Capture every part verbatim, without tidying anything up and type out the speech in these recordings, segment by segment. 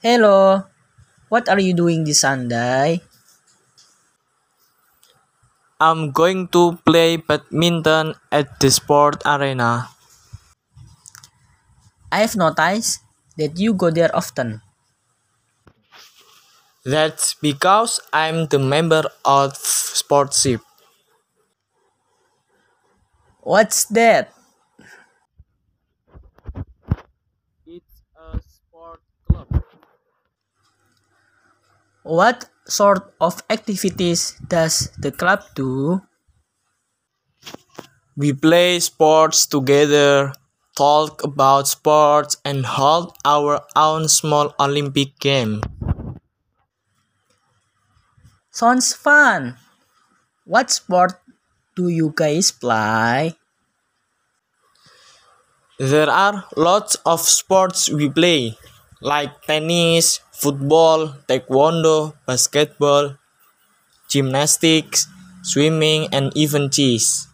Hello, what are you doing this Sunday? I'm going to play badminton at the sport arena. I've noticed that you go there often. That's because I'm the member of Sportship. What's that? It's a sport club. What sort of activities does the club do? We play sports together, talk about sports, and hold our own small Olympic game. Sounds fun. What sport do you guys play? There are lots of sports we play, like tennis, football, taekwondo, basketball, gymnastics, swimming, and even chess.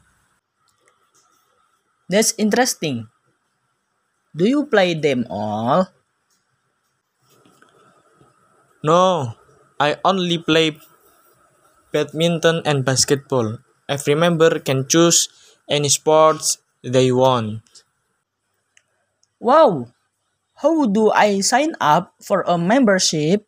That's interesting. Do you play them all? No, I only play badminton and basketball. Every member can choose any sports they want. Wow! How do I sign up for a membership?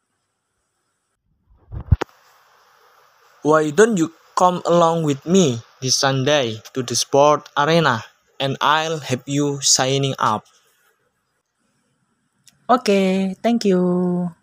Why don't you come along with me this Sunday to the sport arena and I'll help you signing up. Okay, thank you.